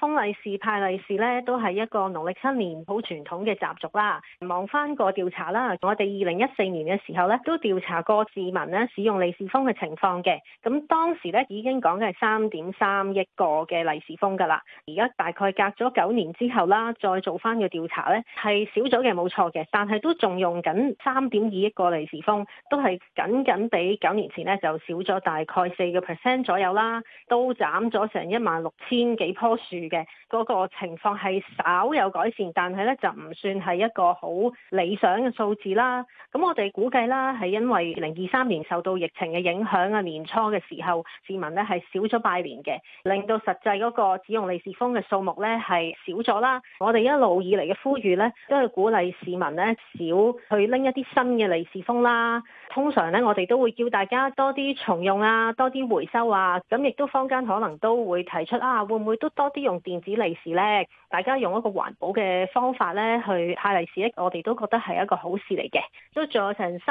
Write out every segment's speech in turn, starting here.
封利是派利是咧，都係一個農曆新年好傳統嘅習俗啦。望翻個調查啦，我哋2014年嘅時候咧，都調查過市民咧使用利是封嘅情況嘅。咁當時咧已經講嘅係3.3億個嘅利是封㗎啦。而家大概隔咗9年之後啦，再做翻個調查咧，係少咗嘅冇錯嘅，但係都仲用緊3.2億個利是封，都係僅比9年前咧就少咗大概4% 左右啦，都斬咗成16,000幾棵樹嘅嗰個情況係稍有改善，但係咧就唔算係一個好理想嘅數字啦。咁我哋估計啦，係因為2023年受到疫情嘅影響啊，年初嘅時候市民咧係少咗拜年嘅，令到實際嗰個使用利是封嘅數目咧係少咗啦。我哋一路以嚟嘅呼籲咧，都係鼓勵市民咧少去拎一啲新嘅利是封啦。通常咧，我哋都會叫大家多啲重用啊，多啲回收啊。咁亦都坊間可能都會提出啊，會唔會都多啲用電子利是咧？大家用一個環保嘅方法咧去派利是咧，我哋都覺得係一個好事嚟嘅。都仲有成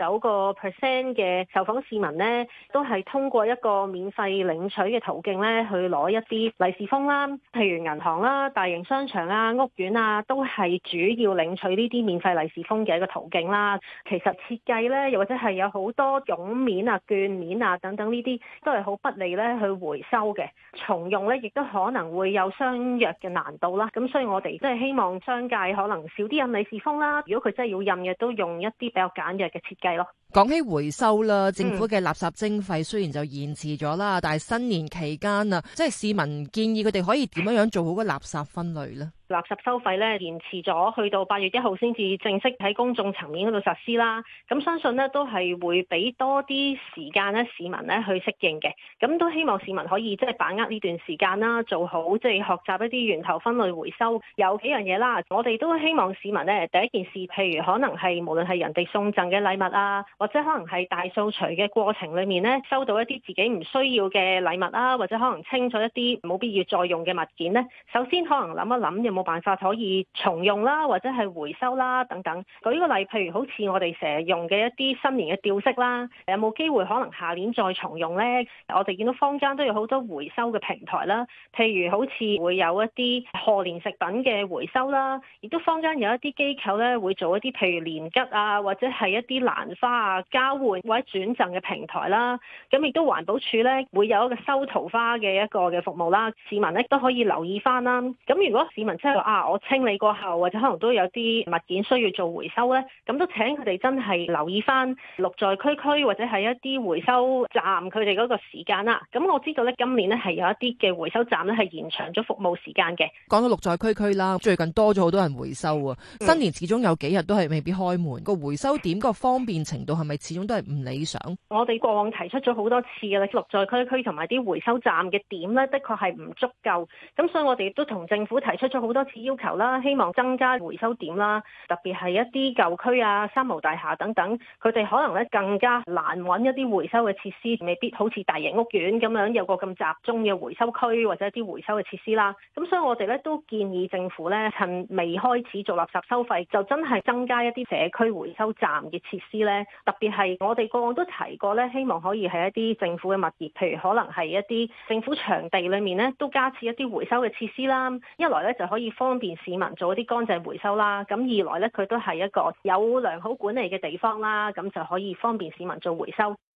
39% 嘅受訪市民咧，都係通過一個免費領取嘅途徑咧去攞一啲利是封啦。譬如銀行啦、大型商場啊、屋苑啊，都係主要領取呢啲免費利是封嘅一個途徑啦。其實設計咧，又或者係有好多絨面啊、券面啊等等呢啲，都係好不利咧去回收嘅。重用咧，亦都可能會有相若嘅難度啦。咁所以我哋真係希望商界可能少啲印利是封啦。如果佢真係要印嘅，都用一啲比較簡約嘅設計咯。 講起回收啦，政府嘅垃圾徵費雖然就延遲咗啦，但係新年期間啊，即係市民建議佢哋可以點樣做好個垃圾分類呢？ 垃圾收費咧延遲咗，去到8月1號先至正式喺公眾層面嗰度實施啦。咁相信呢都係會俾多啲時間咧市民咧去適應嘅。咁都希望市民可以即係把握呢段時間啦，做好即係學習一啲源頭分類回收。有幾樣嘢啦，我哋都希望市民咧第一件事，譬如可能係無論係人哋送贈嘅禮物啊，或者可能係大掃除嘅過程裏面咧收到一啲自己唔需要嘅禮物啊，或者可能清咗一啲冇必要再用嘅物件咧，首先可能諗一諗有冇辦法可以重用啦，或者係回收啦等等。舉個例，譬如好似我哋成日用嘅一啲新年嘅吊飾啦，有冇機會可能下年再重用呢？我哋見到坊間都有好多回收嘅平台啦，譬如好似會有一啲賀年食品嘅回收啦，亦都坊間有一啲機構咧會做一啲譬如年桔啊，或者係一啲蘭花啊交換或者轉贈嘅平台啦。咁亦都環保署咧會有一個收桃花嘅一個嘅服務啦，市民咧都可以留意翻啦。咁如果市民真係話我清理過後，或者可能都有啲物件需要做回收咧，咁都請佢哋真係留意翻綠在區區或者係一啲回收站佢哋嗰個時間啦。咁我知道咧今年咧係有一啲嘅回收站咧係延長咗服務時間嘅。 講到綠在區區啦，最近多咗好多人回收啊。新年始終有幾日都係未必開門，個回收點個方便程度係咪始終都係唔理想？ 我哋過往提出咗好多次嘅啦，綠在區區同埋啲回收站嘅點咧，的確係唔足夠。咁所以我哋亦都同政府提出咗好多次要求啦，希望增加回收點啦，特別係一啲舊區啊、三無大廈等等，佢哋可能咧更加難揾一啲回收嘅設施，未必好似大型屋苑咁樣有個咁集中嘅回收區或者一啲回收嘅設施啦。咁所以我哋咧都建議政府咧趁未開始做垃圾收費，就真係增加一啲社區回收站嘅設施咧。特別係我哋過往都提過咧，希望可以係一啲政府嘅物業，譬如可能係一啲政府場地裏面咧都加設一啲回收嘅設施啦。一來咧就可以方便市民做一啲乾淨回收啦，咁二來咧佢都係一個有良好管理嘅地方啦，咁就可以方便市民做回收。